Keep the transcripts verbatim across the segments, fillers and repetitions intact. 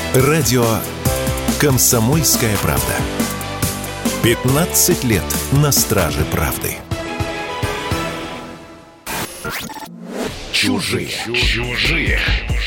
Радио «Комсомольская правда». пятнадцать лет на страже правды. Чужие. Чужие.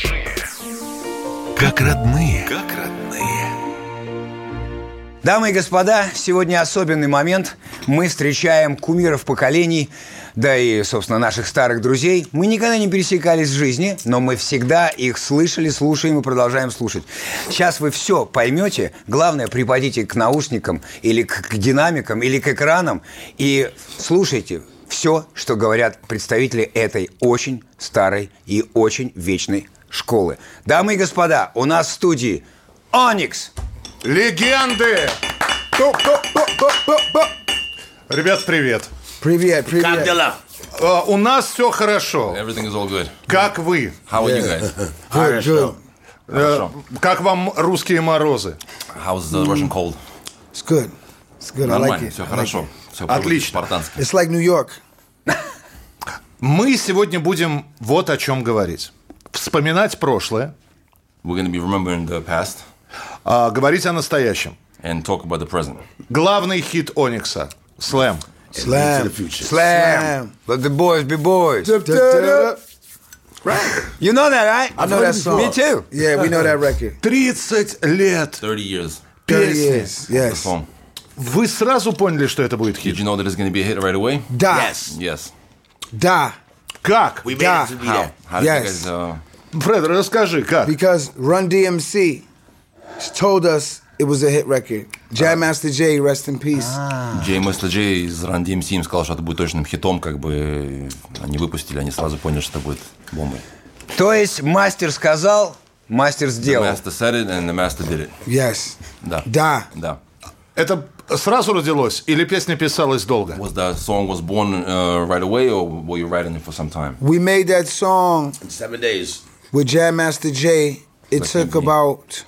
Как родные. Как родные. Дамы и господа, сегодня особенный момент. Мы встречаем кумиров поколений, да и, собственно, наших старых друзей. Мы никогда не пересекались в жизни, но мы всегда их слышали, слушаем и продолжаем слушать. Сейчас вы все поймете. Главное, припадите к наушникам или к, к динамикам, или к экранам и слушайте все, что говорят представители этой очень старой и очень вечной школы. Дамы и господа, у нас в студии Оникс. Легенды! Ребят, привет. Привет, привет. Как дела? Uh, у нас все хорошо. Everything is all good. Как вы? How are you guys? Good, good. Uh, как вам русские морозы? How's the Russian cold? It's good. It's good. I like Нормально, it. все I like хорошо. it. Все Отлично. по-спартански. It's like New York. Мы сегодня будем вот о чем говорить. Вспоминать прошлое, We're going to be remembering the past а говорить о настоящем. and talk about the present. Главный хит Оникса – «Слэм». Slam. Slam. Let the boys be boys. Right. You know that, right? I know that song. Me too. Yeah, we know that record. тридцать лет thirty years. thirty песни. years. Yes. Song. Вы сразу поняли, что это будет Did хит? you know that it's going to be a hit right away? Da. Yes. Yes. Da. Как? We made it to be How? How did Yes. you guys... Uh, Фред, расскажи, как? Because Run D M C told us it was a hit record. Jam Master Jay, rest in peace. Джей Мэстер Джей из Run ди эм си им сказал, что это будет точным хитом, как бы они выпустили, они сразу поняли, что это будет бомбой. То есть мастер сказал, мастер The сделал. master said it and the master did it. Yes. Да. Da. Да. Это сразу родилось или песня писалась долго? Was that song was born uh, right away or were you writing it for some time? We made that song Seven days. with Jam Master Jay. It Like took me. about...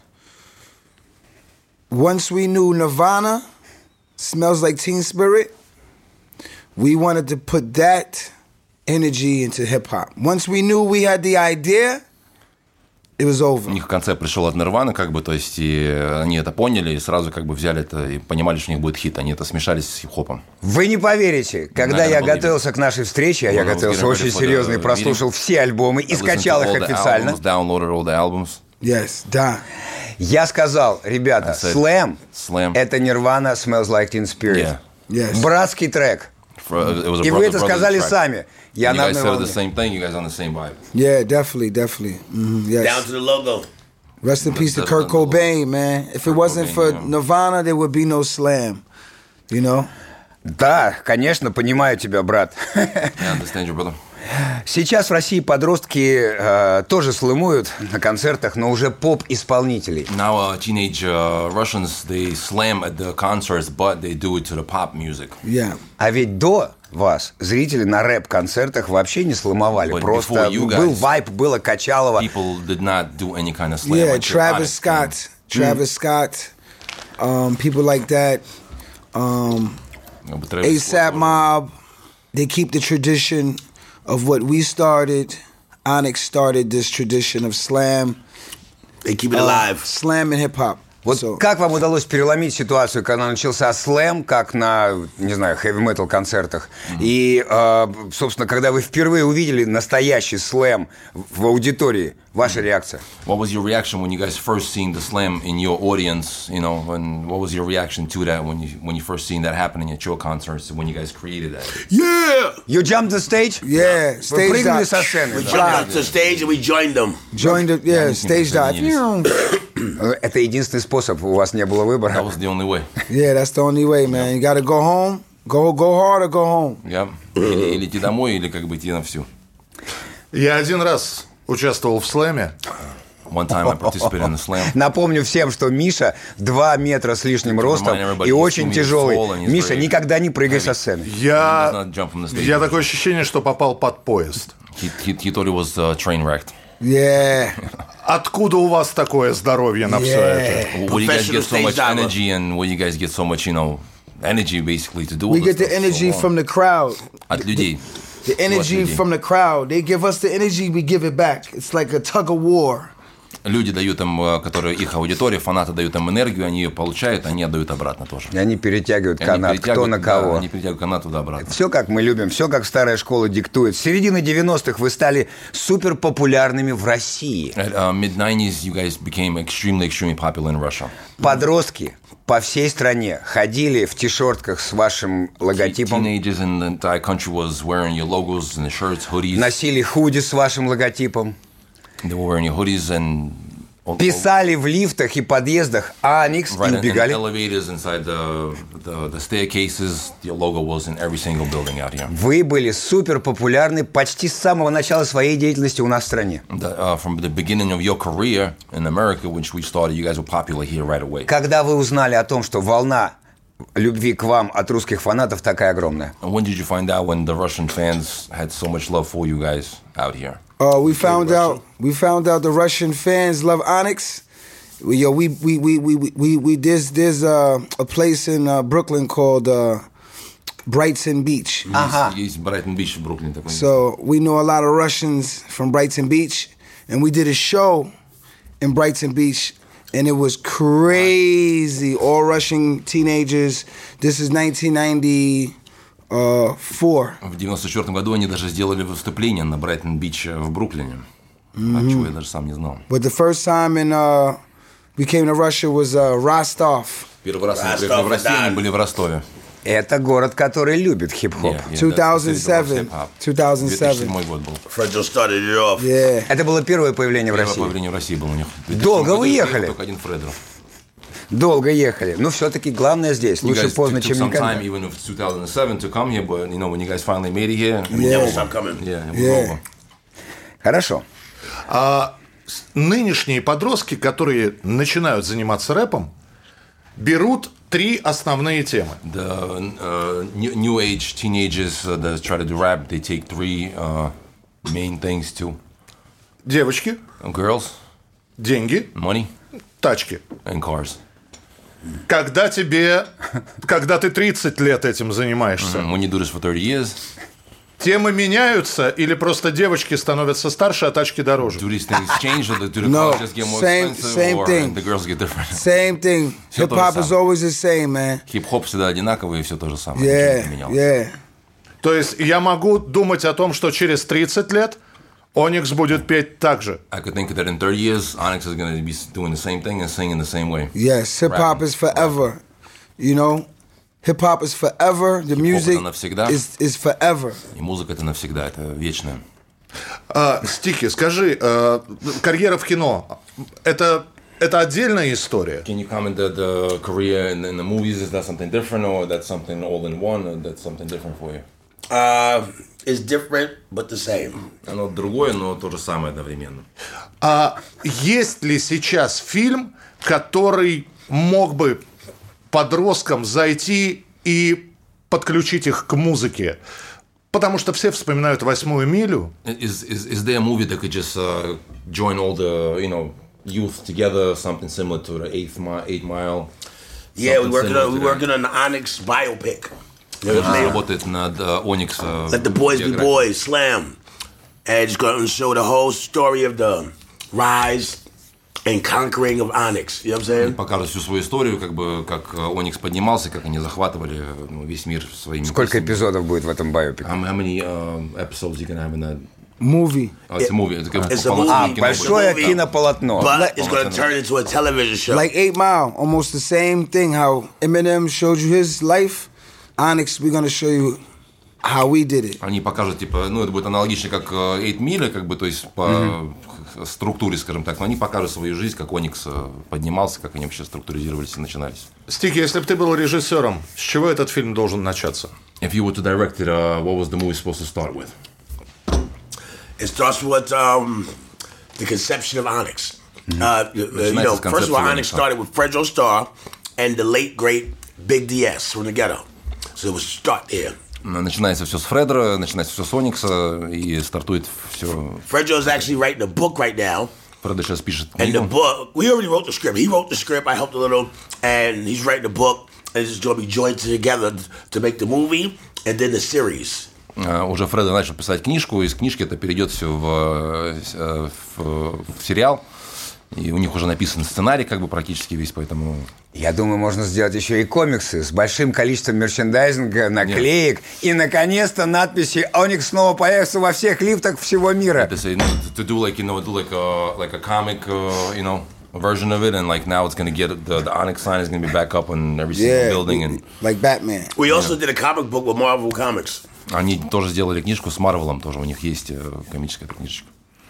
Once we knew Nirvana, Smells Like Teen Spirit, we wanted to put that energy into hip-hop. Once we knew we had the idea, it was over. У них концепт пришел от Нирваны, как бы, то есть и они это поняли и сразу как бы взяли это и понимали, что у них будет хит. Они это смешались с хип-хопом. Вы не поверите, когда Наверное, я был готовился к нашей встрече, а я Well, I was готовился getting очень ready for серьезно и the прослушал meeting. все альбомы и I listened скачал to их all the официально, albums, downloaded all the albums. Yes, da. я сказал, ребята, I said, Slam Slam. – это Nirvana Smells Like Teen Spirit. Yeah. Yes. Братский трек. For, it was a И вы brother- это brother сказали track. сами. Я And на you guys одной said the волне. same thing. You guys on the same vibe. Yeah, definitely, definitely. Mhm, yes. Down to the logo. Rest in peace to That's Kurt down to the Cobain, man. If it Kurt wasn't Cobain, for yeah. Nirvana, there would be no Slam. You know? Да, конечно, понимаю тебя, брат. I understand you, brother. Сейчас в России подростки э, тоже слэмуют на концертах, но уже поп-исполнителей. Now uh, teenage uh, Russians, they slam at the concerts, but they do it to the pop music. Yeah. А ведь до вас зрители на рэп-концертах вообще не слэмовали. But Просто before you guys, был вайп, было качалово. People did not do any kind of slam. Yeah, until I Travis did. Scott. Travis Scott. Um, people like that. Um, Yeah, but Travis ASAP Scott- Mob. They keep the tradition of what we started. Onyx started this tradition of slam. They keep it uh, alive. Slam and hip hop. Вот So, как вам удалось переломить ситуацию, когда начался слэм, как на, не знаю, хэви-метал концертах, mm-hmm. и, э, собственно, когда вы впервые увидели настоящий слэм в аудитории, ваша реакция? What was your reaction when you guys first seen the slam in your audience? You know, and what was your reaction to that when you when you first seen that happening at your concerts when you guys created that? yeah, You jumped the stage? yeah. Вы Stage прыгнули dive. со сцены? We jumped out to the stage and we joined them. Joined the yeah stage dive. Это единственный способ, у вас не было выбора. That was the only way. Yeah, that's the only way, man. You gotta go home. Go go hard or go home. Yeah. Или, или идти домой, или как бы идти на всю. Я один раз участвовал в слэме. One time I participated in the slam. Напомню всем, что Миша два метра с лишним ростом и очень тяжелый. Миша, никогда не прыгай со сцены. Я, He does not jump from the stage. я такое ощущение, что попал под поезд. He, he, he thought he was uh, train wrecked. Yeah. Откуда у вас такое здоровье на все это? Where do you guys get so Professional much stage diver. energy and where you guys get so much, you know, energy basically to do all We this get the stuff energy so from long? the crowd. От людей. The energy людей. from the crowd. They give us the energy, we give it back. It's like a tug of war. Люди дают им, которые их аудитория, фанаты дают им энергию, они ее получают, они отдают обратно тоже. И они перетягивают И канат, они кто на да, кого. они перетягивают канат туда-обратно. Все как мы любим, все как старая школа диктует. С середины девяностых вы стали супер популярными в России. At uh, mid nineties, you guys became extremely, extremely popular in Russia. Подростки по всей стране ходили в ти-шертках с вашим логотипом, Teenagers in the entire country was wearing your logos and the shirts, hoodies. носили худи с вашим логотипом, They were wearing your hoodies and all, писали в лифтах и подъездах «Аникс» right и in, in убегали. elevators inside the, the the staircases. Your logo was in every single building out here. Вы были супер популярны почти с самого начала своей деятельности у нас в стране. The, uh, from the beginning of your career in America, which we started, you guys were popular here right away. Когда вы узнали о том, что волна любви к вам от русских фанатов такая огромная? And when did you find out when the Russian fans had so much love for you guys out here? Uh, we found out. We found out the Russian fans love Onyx. We, yo, we we we we we we, we there's there's uh, a place in uh, Brooklyn called uh, Brighton Beach. Ага. Есть Брайтон Бич в Бруклине такой. So we know a lot of Russians from Brighton Beach, and we did a show in Brighton Beach, and it was crazy. All Russian teenagers. This is nineteen ninety-four. В девяносто четвёртом году они даже сделали выступление на Брайтон Бич в Бруклине. А чего я даже сам не знал. But the first time in uh, we came to Russia was uh, Rostov. Первый раз они Ростов, приехали в Россию, да. они были в Ростове. Это город, который любит хип-хоп. Yeah, yeah, two thousand да, seven. хип-хоп. two thousand две тысячи seven. седьмой год был. Fredro started it off. Yeah. Это было первое появление в Первое России. появление в России было у них. В две тысячи Долго седьмом вы году ехали? приехал только один Фредро. Долго ехали. Но все-таки главное здесь. You Лучше guys поздно, took чем some никогда. time, even if it's two thousand seven, to come here, but you know when you guys finally made it here, We never stop coming. yeah, it was Yeah. over. Хорошо. А с- нынешние подростки, которые начинают заниматься рэпом, берут три основные темы. The uh, new, new age teenagers uh, that try to do rap, they take three uh, main things too: Девочки, girls, деньги, money, тачки. and cars. Когда тебе, когда ты тридцать лет этим занимаешься, And when you do this for thirty years, темы меняются или просто девочки становятся старше, а тачки дороже? do these things change, or do the No, cars just get more same- expensive, same or thing. the girls get different? Same thing. Всё Hip то же hop is самое. always the same, man. Хип-хоп всегда одинаковый, и все то же самое. ничего Yeah, не менялось. yeah. То есть я могу думать о том, что через тридцать лет Оникс будет петь так же. I could think that in thirty years, Onyx is going to be doing the same thing and singing the same way. Yes, hip hop Rapping. is forever. You know, hip hop is forever. The music навсегда. is is forever. И музыка это навсегда, это вечное. А, Стики, скажи, э, карьера в кино это это отдельная история? Can you comment that the career in, in the movies, is that something different, or that's something all in one, or that's something different for you? Uh, it's different, but the same. Оно другое, но то же самое одновременно. А есть ли сейчас фильм, который мог бы подросткам зайти и подключить их к музыке? Потому что все вспоминают «Восьмую милю». Is, is, is there a movie that could just uh, join all the, you know, youth together, something similar to the Eighth Mile, Eight Mile? Yeah, we something working similar on we to that? working on the Onyx biopic. You know what Он I'm saying? работает над uh, Onyx. uh, Let the boys be биографией. boys, Slam, and it's going to show the whole story of the rise and conquering of Onyx. You know what I'm saying? Покажут всю свою историю, как бы как Оникс поднимался, как они захватывали ну, весь мир своими Сколько песнями. эпизодов будет в этом байопике? How, how many uh, episodes you can have in that? Movie. Oh, it's a movie. It's a, It's a полноценное movie. кино Большое movie. кинополотно. But it's going to turn into a television show. Like Eight Mile, almost the same thing. How Eminem showed you his life. Onyx, we're gonna show you how we did it. Они покажут, типа, ну, это будет аналогично, как Eight Mile, как бы, то есть по mm-hmm. структуре, скажем так, но они покажут свою жизнь, как Оникс поднимался, как они вообще структуризировались и начинались. Стики, если бы ты был режиссером, с чего этот фильм должен начаться? If you were to direct it, uh, what was the movie supposed to start with? It starts with um, the conception of Onyx. Uh, uh, you know, Начинается с first of all, концепции Onyx Onyxa. started with Fredro Starr and the late great Big D S from the Ghetto. So it was start there. Начинается все с Фредера, начинается все с Оникса, и стартует все. Fredro is actually writing a book right now. Фредер сейчас пишет And the книгу. book, we already wrote the script. He wrote the script. I helped a little, and he's writing the book. And it's going to be joined together to make the movie and then the series. Uh, уже Фредер начал писать книжку, из книжки это перейдет все в, в, в сериал. И у них уже написан сценарий как бы практически весь, поэтому... Я думаю, можно сделать еще и комиксы с большим количеством мерчендайзинга, наклеек. И, наконец-то, надписи Onyx снова появятся во всех лифтах всего мира. To say, to do like, you know, do like a, like a comic, uh, you know, version of it, and like now it's going to get, the, the Onyx sign is going to be back up on every single Yeah, building. And like Batman. We also did a comic book with Marvel Comics. они тоже сделали книжку с Марвелом, тоже у них есть комическая книжечка.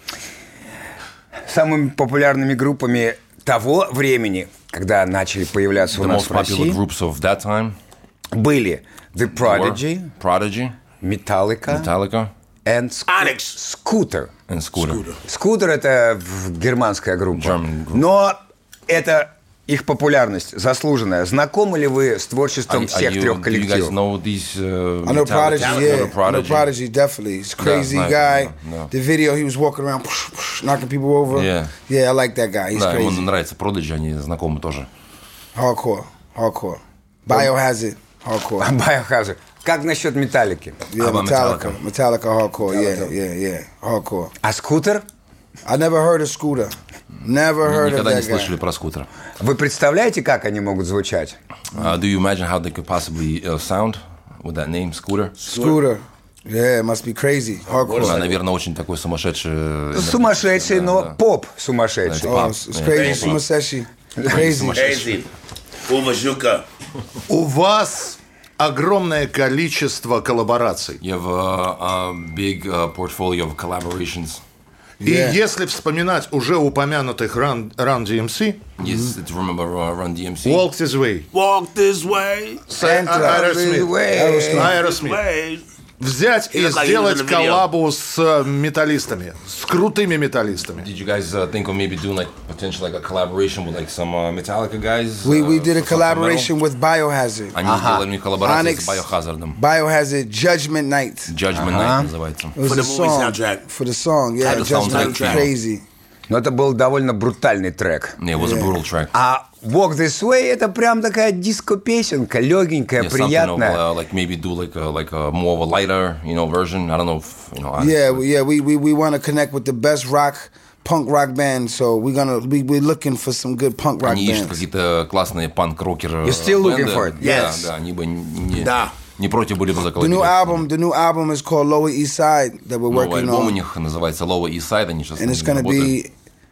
Самыми популярными группами того времени, когда начали появляться у The нас most в popular России, groups of that time были The Prodigy, were Prodigy, Metallica Metallica, and Onyx. Scooter. and Scooter. Scooter — это в- германская группа. German group. Но это их популярность заслуженная. Знакомы ли вы с творчеством Are- are всех you- трех do you guys коллективов? know these, uh, I know Metallica? Prodigy, You yeah. know I know Prodigy. Prodigy, definitely. He's a crazy nice, guy. да, да. The video, he was walking around, psh, psh, knocking people over. Yeah. Yeah, I like that guy. He's Да, ему crazy. нравится Prodigy, они знакомы тоже. Hardcore, hardcore. Biohazard, hardcore. Biohazard. Как насчет Металлики? Yeah, about Metallica. Metallica? Metallica hardcore. Yeah, yeah, yeah. Hardcore. А Скутер? I never heard of Scooter. Never heard of Никогда не that guy. слышали про Скутера. Вы представляете, как они могут звучать? Uh, do you imagine how they could possibly uh, sound with that name, Scooter? Scooter. Yeah, it must be crazy. Hardcore. Да, наверное, очень такой сумасшедший. энергетический, Сумасшедший, да, но да. поп сумасшедший. Oh, it's, it's crazy. Sumaseshi. Crazy. Crazy. Uvashuka. У вас огромное количество коллабораций. You have a, a big uh, portfolio of collaborations. И Yeah. если вспоминать уже упомянутых Run, Run ди эм си, Yes, to remember uh, Run ди эм си. Walk This Way, Walk this way. Aerosmith, Aerosmith. Way. Взять He и looked like he was сделать in the video. коллабу с э, металлистами, с крутыми металлистами. Did you guys uh, think of maybe doing like potentially like a collaboration with like some uh, Metallica guys? We we uh, did a for some collaboration with Biohazard. metal? Они сделали коллаборацию Onyx. с Biohazard. Biohazard Judgment Night. Judgment Night называется. It was For the a movie song. soundtrack. For the song, yeah. the Judgment soundtrack Night, film. crazy. Но это был довольно брутальный трек. Yeah, it was a brutal track. А Walk This Way — это прям такая диско-песенка, легенькая, Yeah, something of, приятная. uh, like maybe do like a, like a more of a lighter, you know, version. I don't know if, you know. I- Yeah, we- yeah. We we, we want to connect with the best rock, punk rock band. So we're gonna we we're looking for some good punk rock Они ищут bands. какие-то классные панк-рокеры. You're still looking for it? Да, Yes. да, они бы не, Да. не против были бы The new заколотить. album, the new album is called Lower East Side that we're Новый working альбом у on, них называется Lower East Side, они сейчас and it's над gonna ним работают. be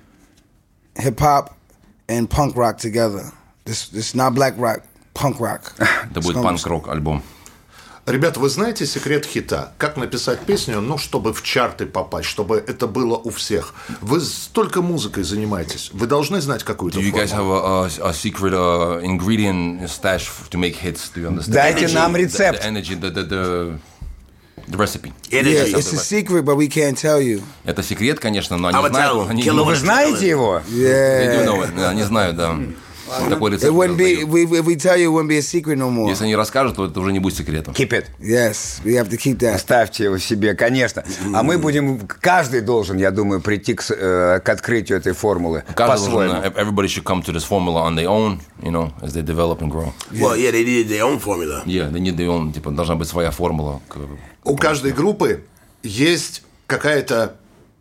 hip hop and punk rock together. This this not black rock, punk rock. Это It's будет gonna- панк-рок альбом. Ребята, вы знаете секрет хита? Как написать песню, ну, чтобы в чарты попасть, чтобы это было у всех? Вы столько музыкой занимаетесь. Вы должны знать какую-то Do you guys have формулу. a, a, a secret uh, ingredient stash to make hits? Do you understand? Дайте The- нам the- рецепт. The energy, the, the, the, the recipe. Yeah, Energy. it's a secret, but we can't tell you. Это секрет, конечно, но они I would знают. tell them, Они, kill ну, him Вы with знаете его? they do Yeah. know it. Да, они знают, да. Такой рецепт. It wouldn't be дают. we, if we tell you, it wouldn't be a secret no more. Если они расскажут, то это уже не будет секретом. Keep it. Yes, we have to keep that. Оставьте его себе, конечно. А мы будем... Каждый должен, я думаю, прийти к, с- э, к открытию этой формулы Каждый должен, по-своему. everybody should come to this formula on their own, you know, as they develop and grow. Well, yeah, they needed their own formula. Yeah, they need their own, типа, должна быть своя формула. к- У каждой группы есть какая-то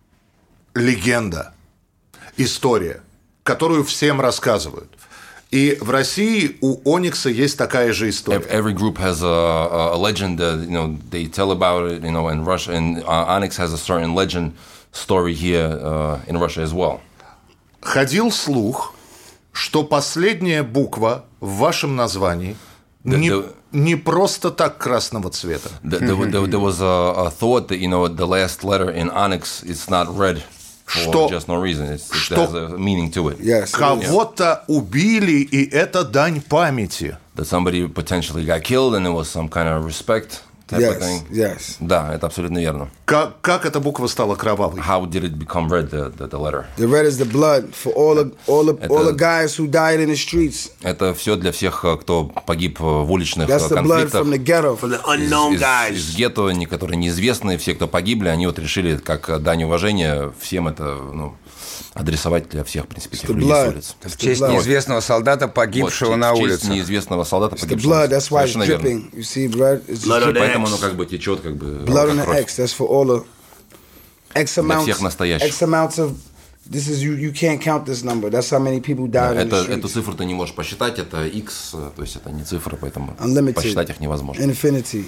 легенда, история, которую всем рассказывают. И в России у Оникса есть такая же история. Every group has a, a legend that, you know, they tell about it, you know, in Russia, and uh, Onyx has a certain legend story here uh, in Russia as well. Ходил слух, что последняя буква в вашем названии не, да. не просто так красного цвета. The, there, there, there was a, a thought that, you know, the last letter in Onyx, it's not red for Что- just no reason. It's, it что- has a meaning to it. Yes. Кого-то убили, и это дань памяти. That somebody potentially got killed and there was some kind of respect type of Yes. thing. Yes. Да, это абсолютно верно. Как, как эта буква стала кровавой? How did it become red, the, the, the letter? The red is the blood for all the all the all the Это- guys who died in the streets. Это все для всех, э, кто погиб э, в уличных э, That's the blood конфликтах. from the ghetto. From the Из, unknown из- guys. из гетто, не- которые неизвестные, все, кто погибли, они вот решили, как э, дань уважения, всем это, ну, адресовать для всех, в принципе, этих the людей с blood. улиц. В честь blood. неизвестного солдата, Вот, погибшего в на честь улице. неизвестного солдата, The погибшего. blood. That's why it's Совершенно верно. dripping. You see, blood. It's Blood just on the Поэтому X. оно как бы течет, как бы blood on как the кровь. X. That's for all the X amounts. всех настоящих. X amounts of This is you. You can't count this number. That's how many people died in the Это, streets. эту цифру ты не можешь посчитать, это X, то есть это не цифра, поэтому Unlimited. посчитать их невозможно. Infinity.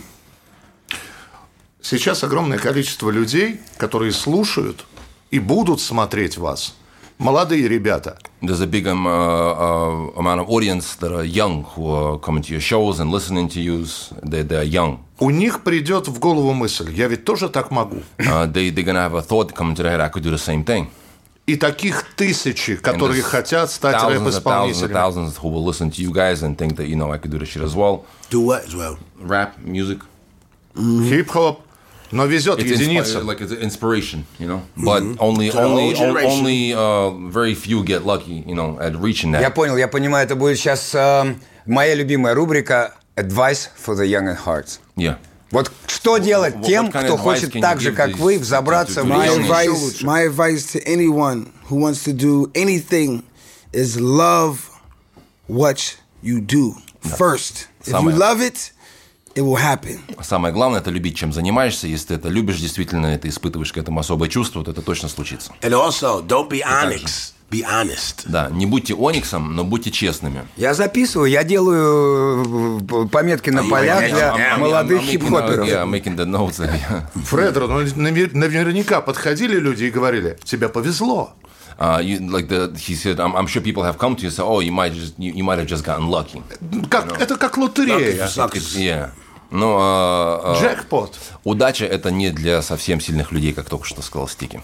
Сейчас огромное количество людей, которые слушают и будут смотреть вас. Молодые ребята. There's a big um, uh, uh, amount of audience that are young who are coming to your shows and listening to you. They, they're young. У них придет в голову мысль, я ведь тоже так могу. Uh, they, they're going to have a thought come to their head, I could do the same thing. И таких тысячи, которые хотят стать thousands and thousands and рэп-исполнителями. thousands who will listen to you guys and think that, you know, I could do the shit as well. Do what as well? Rap, music. Хип-хоп. Но везет It's единица. inspi- like it's inspiration, you know. But only, To the only, whole generation. only uh, very few get lucky, you know, at reaching that. Я понял, я понимаю, это будет сейчас э, моя любимая рубрика «Advice for the young at heart». Yeah. Вот что делать What тем, kind of кто advice хочет can you так же, give как these- вы, взобраться to- в to My young жизнь еще advice, лучше? my advice to anyone who wants to do anything is love what you do first. If you Самое- love it, it will happen. Самое главное – это любить, чем занимаешься. Если ты это любишь, действительно, это испытываешь к этому особое чувство, то это точно случится. And also, don't be onyx. Be honest. Да, не будьте ониксом, но будьте честными. Я записываю, я делаю э, пометки на полях для молодых I'm making, uh, хип-хоперов. yeah, I'm making the notes. yeah. Фредро, ну, навер- наверняка подходили люди и говорили, тебе повезло. Uh, you, like the, he said, I'm, I'm sure people have come to you and said, oh, you might, just, you, you might have just gotten lucky. Как, это как лотерея. It's- yeah. Но uh, uh, Джекпот. удача – это не для совсем сильных людей, как только что сказал Стики.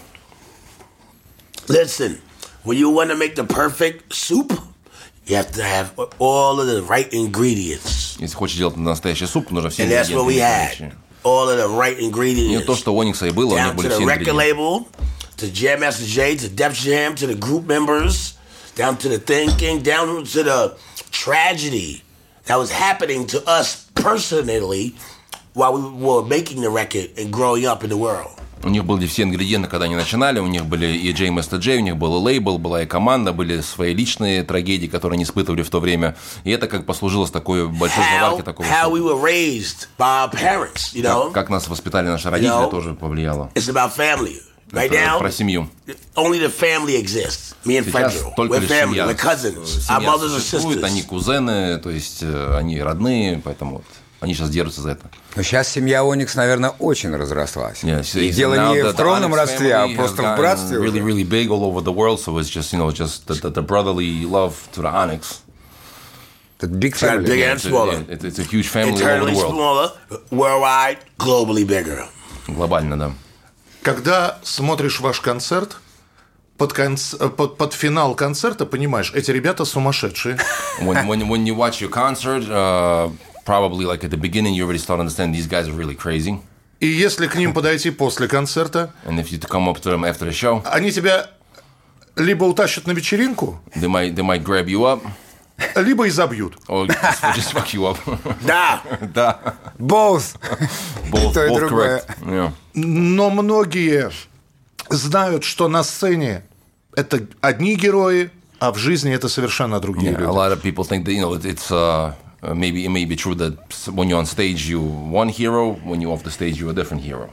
Listen, when you want to make the perfect soup, you have to have all of the right ingredients. Если хочешь делать настоящий суп, нужно все And that's what we had. ингредиенты. All of the right Не ingredients. то, что у Оникса и было, у них Down to были the все record ингредиенты. label, to Jam Master Jay, to Def Jam, to the group members, down to the thinking, down to the tragedy that was happening to us personally while we were making the record and growing up in the world. У них были все ингредиенты, когда они начинали. У них были и Джей Master Jay, у них был и лейбл, была и команда, были свои личные трагедии, которые они испытывали в то время. И это как послужило с такой большой How, заваркой такого. how супа. we were raised by our parents, you know? Как, как нас воспитали наши родители, know, тоже повлияло. It's about family. Right Это now, про семью. only the family exists. Me and Сейчас Fredro. только We're лишь family. семья. We're cousins. Our Семья mothers and существует, они sisters. кузены, то есть э, они родные, поэтому вот, они сейчас держатся за это. Но сейчас семья Оникс, наверное, очень разрослась. Yeah, so И it's дело now не that в the тронном Onyx родстве, а family просто has в братстве. gotten уже. really, really big all over the world, so it's just, you know, just the, the, the brotherly love to the Onyx. Это big Got family. big and It's a, smaller. yeah, it's, it's a huge family all over Internally the world. smaller, worldwide, globally bigger. Глобально, да. Когда смотришь ваш концерт, под, конц- под, под финал концерта понимаешь, эти ребята сумасшедшие. When, when, when you watch your concert, uh, probably like at the beginning, you already start to understand these guys are really crazy. И если к ним подойти после концерта, And if you come up to them after the show, они тебя либо утащат на вечеринку, they might, they might grab you up либо изобьют. or just, or just fuck you up. Nah, Да. Both. Both, то и both другое. correct. Yeah. Но многие знают, что на сцене это одни герои, а в жизни это совершенно другие Yeah, a люди. lot of people think that, you know, it- it's uh, uh, maybe it may be true that when you're on stage you one hero, when you're off the stage you're a different hero.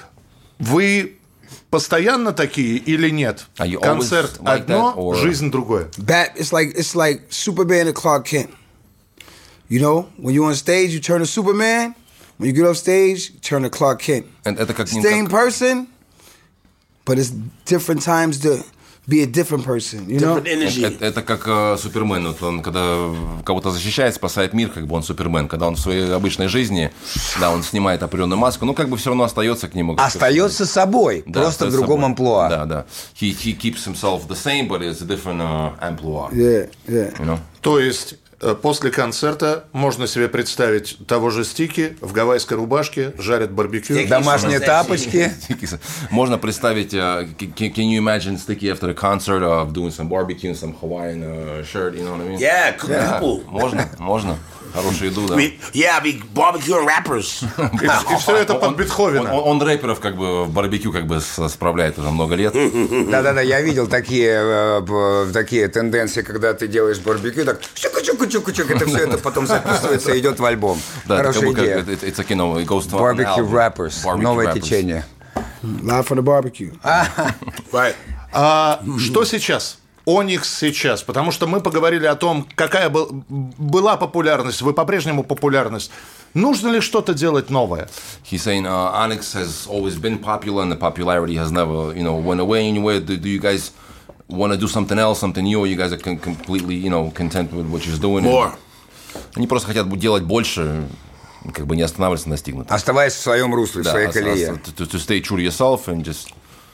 Вы постоянно такие или нет? Are you Концерт always like одно, that, or- жизнь другое. Bat, it's like it's like Superman and Clark Kent. You know, when you're on stage, you turn to Superman. When you get off stage, you turn to Clark Kent. And это как, Same как- person, but it's different times to be a different person. You know. different energy. это, это как э, Супермен, вот он когда кого-то защищает, спасает мир, как бы он Супермен. Когда он в своей обычной жизни, да, он снимает определенную маску, ну как бы все равно остается к нему. как Остается собой, Да, просто в остается другом собой. амплуа. Да, да. He, he keeps himself the same, but it's a different uh, amplua. Yeah, yeah. You know? То есть э, после концерта можно себе представить того же Стики в гавайской рубашке, жарят барбекю. Домашние тапочки. Можно представить, uh, can, can you imagine Sticky after the concert of doing some barbecue, some Hawaiian uh, shirt, you know what I mean? Yeah, cook people. Можно, можно. Хорошую еду, да. I mean, yeah, I be barbecuing rappers. И, и все это под Он, Бетховена. он- он рэперов как бы в барбекю как бы с- справляет уже много лет. Да-да-да, я видел такие, э, б- такие тенденции, когда ты делаешь барбекю, так чук-чук-чук-чук, это все это потом записывается и идет в альбом. Да, это как Хорошая бы как- идея. это- это- it's like, you know, it goes to an Barbecue album. rappers, Barbecue новое rappers. течение. Live from the barbecue. Right. А что сейчас? Оникс сейчас, потому что мы поговорили о том, какая был, была популярность, вы по-прежнему популярность. Нужно ли что-то делать новое? He's saying uh, Onyx has always been popular and the popularity has never, you know, went away anywhere. Do, do you guys want to do something else, something new, or you guys are con- completely, you know, content with what you're doing? More. Они просто хотят делать больше, как бы не останавливаться на достигнутом. Оставаясь в своем русле, в Да, своей ос- колее. ос- to, to stay true to yourself and just...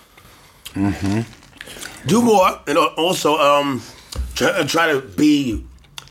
Do more, and also um, try, try to be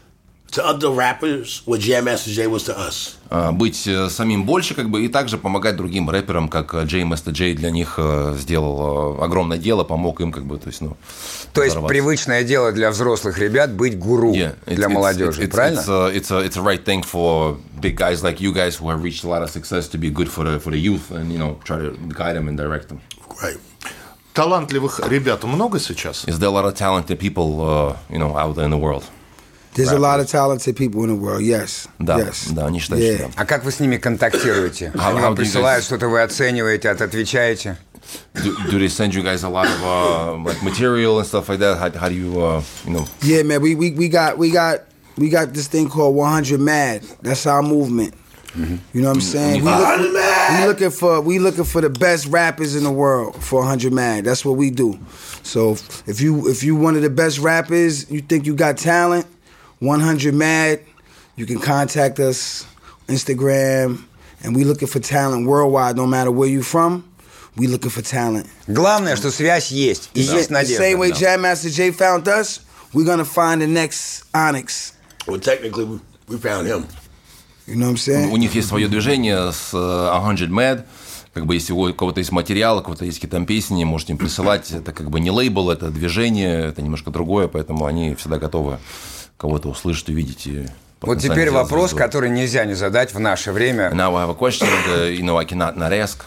to other rappers what Jam Master Jay was to us. Uh, быть uh, самим больше, как бы, и также помогать другим рэперам, как Jam Master Jay для них uh, сделал uh, огромное дело, помог им, как бы, то есть, ну... То есть привычное дело для взрослых ребят быть гуру Yeah, для it's, молодежи, it's, it's, правильно? It's a, it's, a, it's a right thing for big guys like you guys who have reached a lot of success to be good for the, for the youth and, you know, try to guide them and direct them. Right. Талантливых ребят много сейчас? Is there a lot of talented people, uh, you know, out there in the world? There's a lot of talented people in the world, yes. Да, yes. да, они считают, Yeah. что да. А как вы с ними контактируете? How- Они how вам do you присылают guys- что-то, вы оцениваете, от- отвечаете? Do, do they send you guys a lot of uh, like material and stuff like that? How, how do you, uh, you know? Yeah, man, we, we, we got we got we got this thing called one hundred Mad. That's our movement. You know what I'm saying? We, look, we looking for we looking for the best rappers in the world for one hundred Mad. That's what we do. So if you if you one of the best rappers, you think you got talent, one hundred Mad, you can contact us, Instagram, and we looking for talent worldwide. No matter where you from, we looking for talent. Главное, что связь есть, и есть The надежда. same way Jam Master Jay found us, we're gonna find the next Onyx. Well, technically, we, we found him. You know what I'm saying? У них есть свое движение с uh, one hundred Mad. Как бы если у кого-то есть материал, у кого-то есть какие-то там песни, можете им присылать. Это как бы не лейбл, это движение, это немножко другое, поэтому они всегда готовы кого-то услышать, увидеть. И Вот теперь вопрос, который нельзя не задать в наше время. Now I have a question that, you know, I cannot not ask.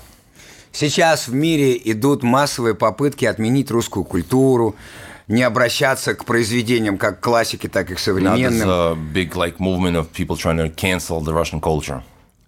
Сейчас в мире идут массовые попытки отменить русскую культуру, не обращаться к произведениям как классики, так и к Now there's современным. a big like movement of people trying to cancel the Russian culture.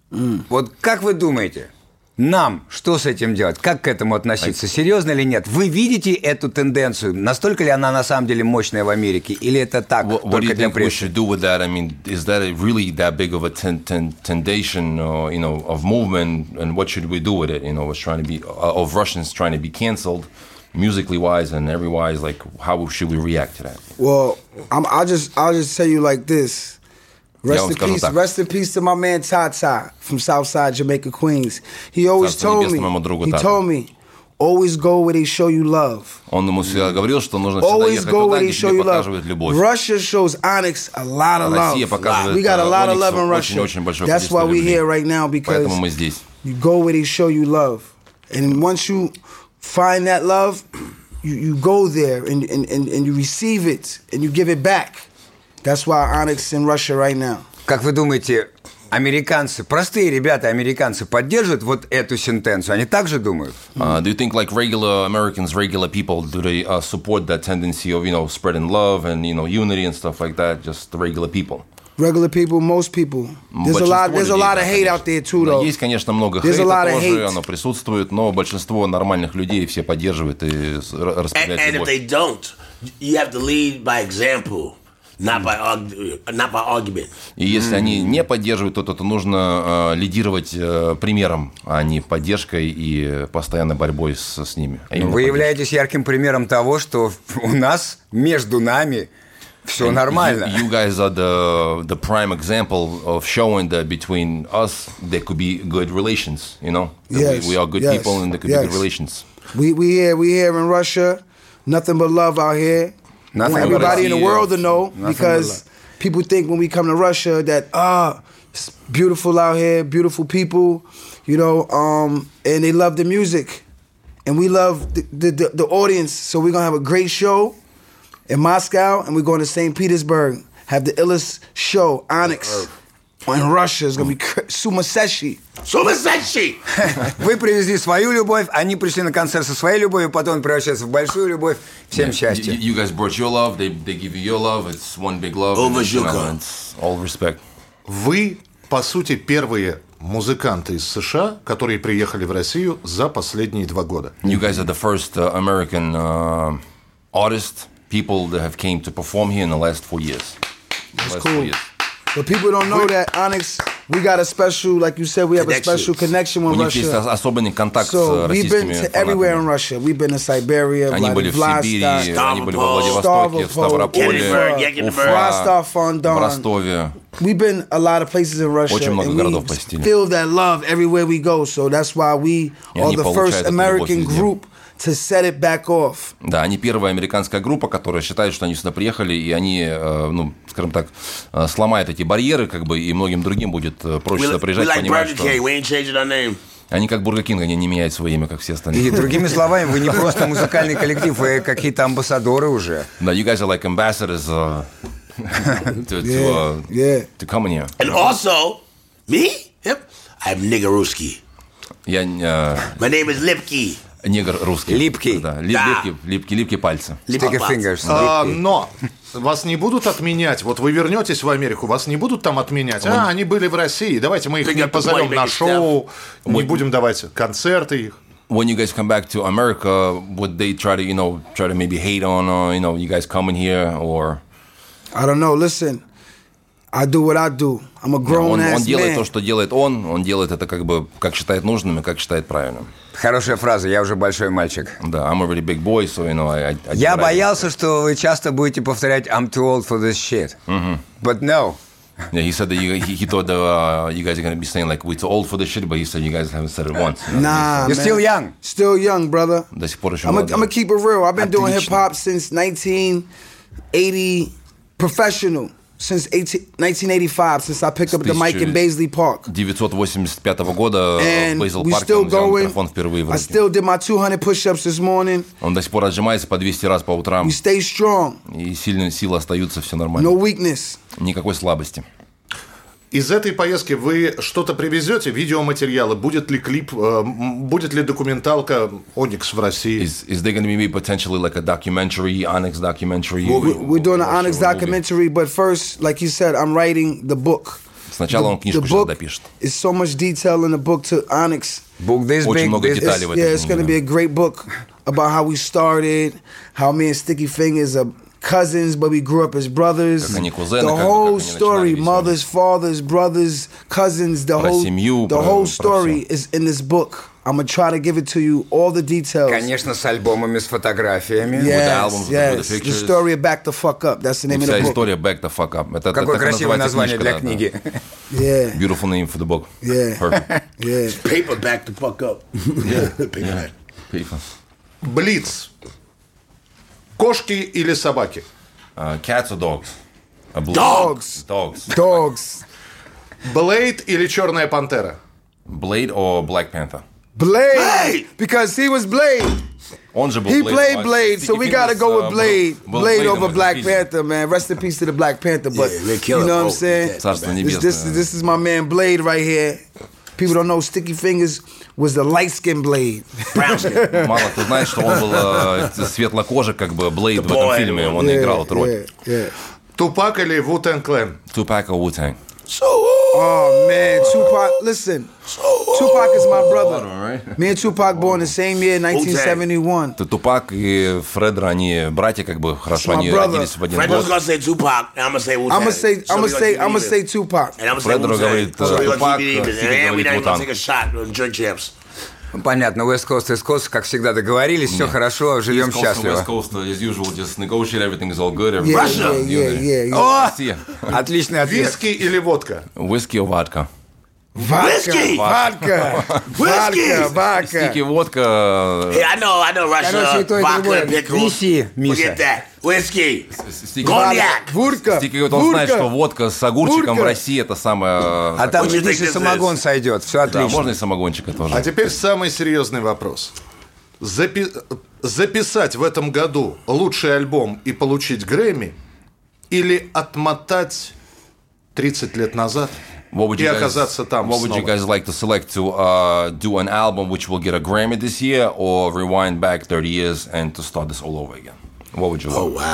Вот как вы думаете, нам что с этим делать? Как к этому относиться? Серьезно или нет? Вы видите эту тенденцию? Настолько ли она на самом деле мощная в Америке? Или это так, What, what do только you для think we прессы? should do with that? I mean, is that really that big of a ten, ten, tendency, or, you know, of movement, and what should we do with it? You know, it's trying to be uh, of Russians trying to be canceled, musically wise and every wise. Like, how should we react to that? Well, I'm, I'll just I'll just tell you like this. Rest Yeah, in скажу peace. так. Rest in peace to my man Tata from Southside Jamaica, Queens. He always Царство told небесное me. моему другу He Тате. told me, always go where they show you love. Он ему всегда говорил, что нужно всегда Always ехать go туда, where they где show тебе you love. показывают любовь. Russia shows Onyx a lot of love. Россия показывает We got a lot of Ониксу love in Russia. очень-очень большое That's количество why we любви. here right now, because Поэтому мы здесь. you go where they show you love. And once you find that love, you, you go there and, and, and, and you receive it and you give it back. That's why Onyx in Russia right now. Как вы думаете, американцы, простые ребята, американцы поддерживают вот эту сентенцию? Они так же думают? Uh, do you think like regular Americans, regular people, do they uh, support that tendency of, you know, spreading love and, you know, unity and stuff like that? Just the regular people. Regular people, most people. There's a lot. There's a lot of hate out there too, though. Есть, конечно, много There's a хейта lot of тоже, hate. оно присутствует, но большинство нормальных людей все поддерживают и с- р- And, распределяют and if любовь. they don't, you have to lead by example, not by argu- not by argument. И если они не поддерживают, то, то, то нужно э, лидировать э, примером, а не поддержкой и постоянной борьбой с, с ними. А именно Вы поддержкой. являетесь ярким примером того, что у нас, между нами, все нормально. You, you guys are the the prime example of showing that between us there could be good relations. You know, that Yes, we, we are good yes, people and there could yes. be good relations. We we here we here in Russia. Nothing but love out here. Nothing I want but everybody in the love. world to know Nothing but because love. people think when we come to Russia that ah, it's beautiful out here, beautiful people, you know, um, and they love the music, and we love the the, the, the audience. So we're gonna have a great show in Moscow, and we're going to Saint Petersburg. Have the illest show, Onyx, in Russia. It's gonna be cra- Sumaseshi. Sumaseshi! Вы привезли свою любовь, они пришли на концерт со своей любовью, потом превращается в большую любовь. Всем счастья. You, you guys brought your love. They they give you your love. It's one big love. Over and, you know, Zhuka. it's all respect. Вы, по сути, первые музыканты из США, которые приехали в Россию за последние два года. You guys are the first uh, American uh, artists, people that have came to perform here in the last four years. That's last cool. four years. But people don't know that Onyx, we got a special, like you said, we have a special connection У with них есть Russia. особенный контакт So с we've been российскими to everywhere in фанатами. Russia. We've been to Siberia, Они были в Сибири, Vladivostok, они были во Владивостоке, в Ставрополе, Ставрополе, Уфа, Rostov-on-Don. в Ростове. We've been a lot of places in Russia, Очень много and городов we посетили. feel that love everywhere we go. So that's why we И are они the получают first эту любовь American везде. group to set it back off. Да, они первая американская группа, которая считает, что они сюда приехали, и они, э, ну, скажем так, э, сломают эти барьеры, как бы, и многим другим будет э, проще We, сюда we приезжать, like понимать, Burger что... King. We ain't changing our name. Они как Бургер Кинг, они не меняют свое имя, как все И остальные. другими словами, вы не просто музыкальный коллектив, вы какие-то амбассадоры уже. Да, you guys are like ambassadors uh, to, to, uh, Yeah. to come in here. And also, me? Yep. I'm nigger Ruski. Я э, My name is Lipke. негр русский. Липкий. Да, ли- Да. липкий, липкий, липкие пальцы. Sticky fingers. А, но вас не будут отменять. Вот вы вернетесь в Америку, вас не будут там отменять. А, они были в России. Давайте мы их Bring не up the позовем point, на make it шоу, не будем давать концерты их. When you guys come back to America, would they try to, you know, try to maybe hate on, uh, you know, you guys coming here, or... I don't know. Listen, I do what I do. I'm a grown Он, он ass делает man. то, что делает он, он делает это как бы, как считает нужным и как считает правильным. Хорошая фраза, я уже большой мальчик. Да, I'm already big boy, so, you know, I... I, I Я I- боялся, что вы часто будете повторять I'm too old for this shit. But no. Yeah, he said that you, he, he thought that uh, you guys are going to be saying, like, we're too old for this shit, but he said you guys haven't said it once. You know? Nah, You're man. still young. Still young, brother. До сих пор еще I'm молодой. gonna keep it real. I've been doing hip Отлично. hop since nineteen eighty, professional since eighteen, nineteen eighty-five, since I picked up the mic in Baisley Park. девятьсот восемьдесят пятого года And в Бейзел we Парке still он взял going. микрофон впервые в I руки. still did my two hundred push-ups this morning. Он до сих пор отжимается по двести раз по утрам, We stay strong. и сильные силы остаются, все нормально. No weakness. Никакой слабости. Из этой поездки вы что-то привезете, видеоматериалы? Будет ли клип, э, м, будет ли документалка «Оникс» в России? Is, is there going to be potentially like a documentary, Onyx documentary? We- We're doing an Or Onyx movie? documentary, but first, like you said, I'm writing the book. Сначала он The книжку сейчас book допишет. is so much detail in the book to Onyx. Book this Очень big, много this- деталей в этой Yeah, it's книге, going to да. be a great book about how we started, how me and Sticky Fingers are cousins, but we grew up as brothers. Как они кузены, The как бы, whole как они story, начинали mothers, fathers, brothers, cousins, the Про whole, семью, the про- whole про story is in this book. I'm going to try to give it to you, all the details. Конечно, с альбомами, с фотографиями. Yes, albums, with the yes. The pictures. story of Back the Fuck Up. That's the name of Вся the book. история Back the Fuck Up. Это, Какое это так красивое называется название книжка, для да, книги. Yeah, да. Beautiful name for the book. Yeah. Perfect. yeah. Paper back the fuck up. Paper. Beautiful. Блиц. Кошки или собаки? Uh, cats or dogs? A blue- Dogs. Dogs. Dogs. Блейд или Черная пантера? Blade or Black Panther? Blade. Blade! Because he was Blade. Он же был He Blade. played а Blade, so Sticky we gotta Fingers, go uh, with Blade. был- был Blade Blade, over он Black пиздец. Panther, man. Rest in peace to the Black Panther. But Yeah, they you kill know him. what I'm Oh, saying? yeah. Царство This, небесное. this, this is my man Blade right here. People don't know Sticky Fingers was the light skinned Blade. Brown skin. Мало кто знает, что он был э, светлокожий, как бы Блейд в этом boy. фильме. Он Yeah, играл эту роль. yeah, yeah. Тупак или Wu-Tang Clan? Tupac or Wu-Tang? Oh man, Tupac. Listen, Tupac is my brother. right? Me and Tupac born the same year, nineteen seventy-one. То Тупак и Фредро, они братья, как бы хорошо, My они brother. родились в один Fred was год. gonna say Tupac, and I'm gonna say Wu-Tang. I'm gonna say, So I'm we gonna say, keep I'm it gonna say even. Tupac. And I'm gonna say Фредро Wu-Tang. говорит, So we Тупак, gonna keep it even. Стики And we говорит not gonna Wu-Tang. take a shot on Drink Champs. Понятно, West Coast, East Coast, как всегда договорились, все хорошо, живем East Coast and счастливо. West Coast, as usual, just negotiate, everything is all good. Yeah, everybody's yeah, in yeah, unity. yeah, yeah. О, Россия. отличный ответ. Виски или водка? Whisky or vodka? Whiskey! Vodka, vodka, vodka. Стики, водка. Hey, I know, I know Russia. Короче, и то, и Vodka другое. and pickles. Неси, Миша. Forget that. Whiskey. Стики, Коньяк. Водка. Стики говорит, он знает, что водка с огурчиком Водка. в России это самое... А там, What you глядишь, think и this самогон is? сойдет, все Да, отлично. можно и самогончика тоже. А теперь самый серьезный вопрос. Запи- записать в этом году лучший альбом и получить Грэмми или отмотать тридцать лет назад What would и you guys, оказаться там what would you снова? guys like to select to uh, do an album which will get a Grammy this year or rewind back thirty years and to start this all over again? What would you Oh, love? wow.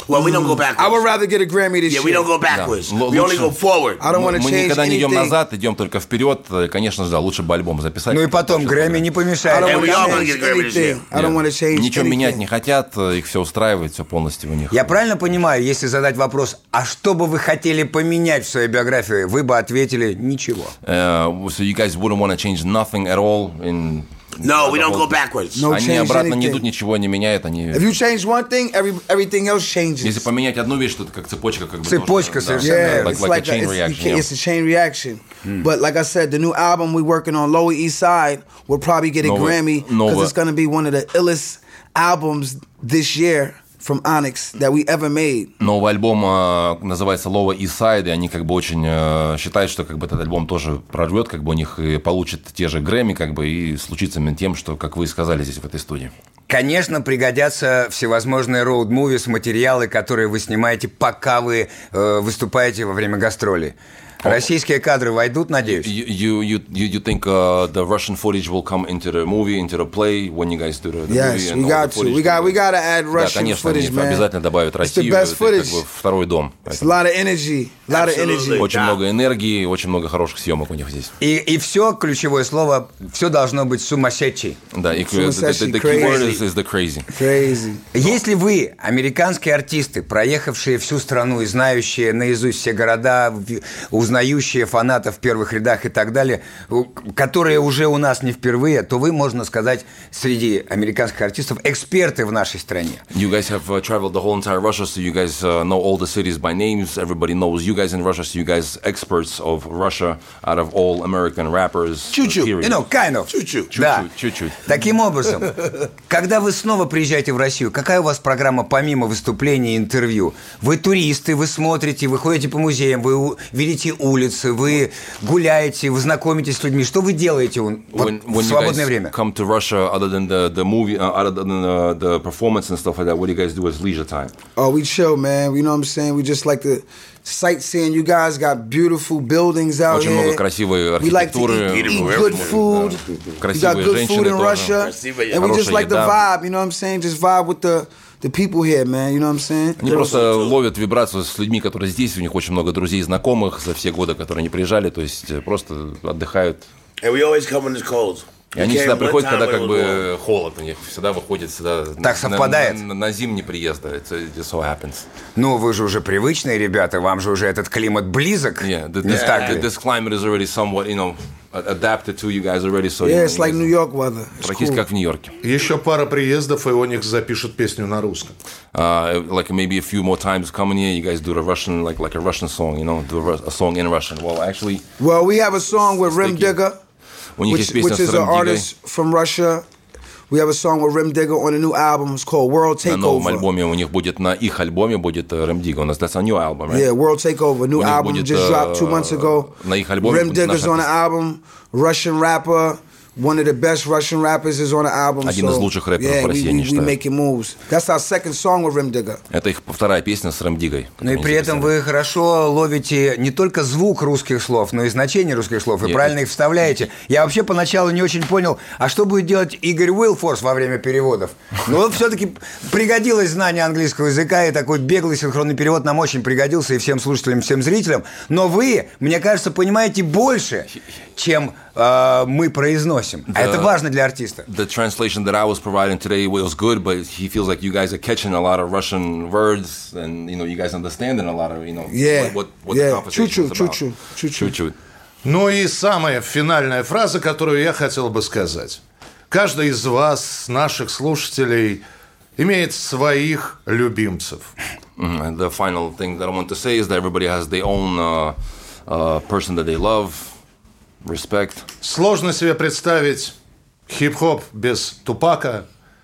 Well, we don't go backwards. I would rather get a Grammy this Yeah, year. we don't go backwards. Да. We only Лучше- go forward. I don't want to Мы change никогда не идем anything. назад, идем только вперед. Конечно же, да, лучше бы альбом записать. Ну и потом, Грэмми не I помешает. don't And want we all gonna to get change Grammy this year. anything. I don't want to change Ничего менять не anything. хотят, их все устраивает, все полностью у них. Я правильно понимаю, если задать вопрос, а что бы вы хотели поменять в своей биографии, вы бы ответили ничего. Uh, so you guys wouldn't want to change nothing at all in... No, we don't go backwards. No Они change обратно не anything. идут, ничего не меняют, они... If you change one thing, every, everything else changes. Если поменять одну вещь, то это как цепочка, как бы Цепочка тоже, да. совершенно. Yeah, Like, it's like a like chain a, it's, reaction. you can't- yeah. it's a chain reaction. But like I said, the new album we working on, Lower East Side, will probably get a Новый- Grammy because новый- it's going to be one of the illest albums this year from Onyx that we ever made. Новый альбом э, называется Lower East Side, и они как бы очень э, считают, что как бы этот альбом тоже прорвет, как бы у них и получит те же Грэмми, как бы и случится именно тем, что, как вы и сказали здесь в этой студии. Конечно, пригодятся всевозможные роуд-мувис, материалы, которые вы снимаете, пока вы э, выступаете во время гастролей. Российские кадры войдут, надеюсь? You you you you you think uh, the Russian footage will come into the movie, into the play when you guys do the, the Yes, movie? and we all got the to. footage? We got we got to add Да, Russian конечно, они footage, man. обязательно добавят It's the Россию. best Это footage. как бы второй дом. It's a lot of energy, a lot of energy. Absolutely. Очень Да. много энергии, очень много хороших съемок у них здесь. И, и все, ключевое слово, все должно быть сумасшедший. Да, и the, the, Сумасшедший, the key word crazy. is, is the crazy. Crazy. Если вы, американские артисты, проехавшие всю страну и знающие наизусть все города, в- узнающие фанатов в первых рядах и так далее, у- которые уже у нас не впервые, то вы, можно сказать, среди американских артистов эксперты в нашей стране. You guys have uh, traveled the whole entire Russia, so you guys uh, know all the cities by names. Everybody knows you guys in Russia, so you guys experts of Russia out of all American rappers. Чуть-чуть. period. You know, kind of. Чуть-чуть. Да. Чуть-чуть. Таким образом, когда вы снова приезжаете в Россию, какая у вас программа помимо выступлений и интервью? Вы туристы, вы смотрите, вы ходите по музеям, вы у- видите улицы, вы гуляете, вы знакомитесь с людьми. Что вы делаете вот When, в when you свободное guys время? come to Russia, other than the, the movie, uh, other than the, the performance and stuff like that, what do you guys do as leisure time? Oh, we chill, man. You know what I'm saying? We just like to sightseeing. You guys got beautiful buildings out Очень here. много красивой We like to архитектуры. eat, eat Beautiful good everywhere. food. We Красивые got good женщины food in тоже. Russia. Красивая And we just Хорошая like the еда. vibe, you know what I'm saying? Just vibe with the, the people here, man. You know what I'm saying? Они просто ловят вибрацию с людьми, которые здесь. У них очень много друзей и знакомых за все годы, которые они приезжали. То есть э, просто отдыхают. And we always come when it's cold. И они We всегда came one приходят, time когда when как it was warm. бы холод у них. Всегда выходит сюда Так на, совпадает. на, на, на зимний приезд. Да. It just so happens. Ну, вы же уже привычные ребята, вам же уже этот климат близок. Yeah, the, Не this, так ли? this climate is already somewhat, you know, adapted to you guys already. So Yeah, you it's like New York weather. It's Практически cool. как в Нью-Йорке. Еще пара приездов, и Оникс запишет песню на русском. Uh, like maybe a few more times coming here, you guys do the Russian, like like a Russian song, you know, do a, Ru- a song in Russian. Well, actually, Well, we have a song with Rim Sticky. Digger, у них which, есть песня which с is an Рэм Диггой. artist from Russia. We have a song with Rim Digger on a new album. It's called World На новом Takeover. альбоме у них будет, на их альбоме будет э, Рэм Дигга. У нас that's a new album, right? Yeah, World Takeover. New У них album будет, just э, dropped two months ago. на их альбоме Rim будет наш Digger's on the артист. album. Russian rapper. One of the best Russian rappers is on the album. Один so, из лучших рэперов yeah, в России, we, я we, we считаю. making moves. That's our second song with Rim Digger. Это их вторая песня с Рэм Диггой. Ну и которую при они этом записали. вы хорошо ловите не только звук русских слов, но и значение русских слов, и Я- правильно их вставляете. Я вообще поначалу не очень понял, а что будет делать Игорь Уилфорс во время переводов? Но все-таки пригодилось знание английского языка, и такой беглый синхронный перевод нам очень пригодился, и всем слушателям, всем зрителям. Но вы, мне кажется, понимаете больше, чем э, мы произносим. А это важно для артиста. The translation that I was providing today was good, but he feels like you guys are catching a lot of Russian words, and you know, you guys understanding a lot of, you know, Yeah, what, what, what the yeah. conversation is Чуть-чуть, about. чуть-чуть, чуть-чуть. Чуть-чуть. Ну и самая финальная фраза, которую я хотел бы сказать. Каждый из вас, наших слушателей, имеет своих любимцев. Mhm. And the final thing that I want to say is that everybody has their own uh, uh, person that they love, respect. Сложно себе представить хип-хоп без Тупака,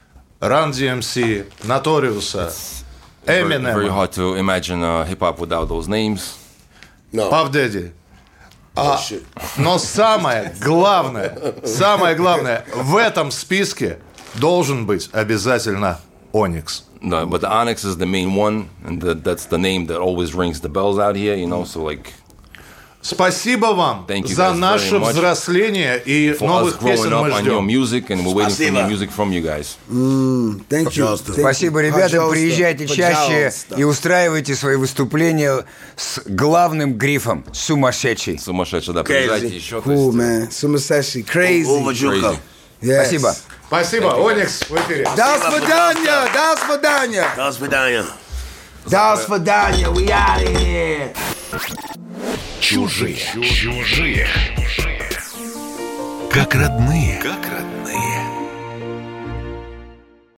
Run ди эм си, Notorious, Very, very Eminem, hard to imagine uh, hip hop without those names. No. Puff Daddy. Oh, shit. Но самое главное, самое главное, в этом списке должен быть обязательно Оникс. No, but the Onyx is the main one, and the, that's the name that always rings the bells out here, you know. So like, Спасибо вам Thank you за guys наше very much взросление и for новых us growing песен up мы on your ждем. music, and we're waiting for Спасибо. new music from you guys. Thank you. Пожалуйста. Thank you. Спасибо, ребята. Пожалуйста. Приезжайте чаще Пожалуйста. и устраивайте свои выступления с главным грифом «Сумасшедший». Сумасшедший, да, Crazy. приезжайте еще. то Cool, есть, man. Сумасшедший. Crazy. Уважуха. Yes. Спасибо. Спасибо, Оникс в эфире. До свидания. До свидания. До свидания. До свидания. We out of here. Чужие. Чужие. Как родные. Как родные.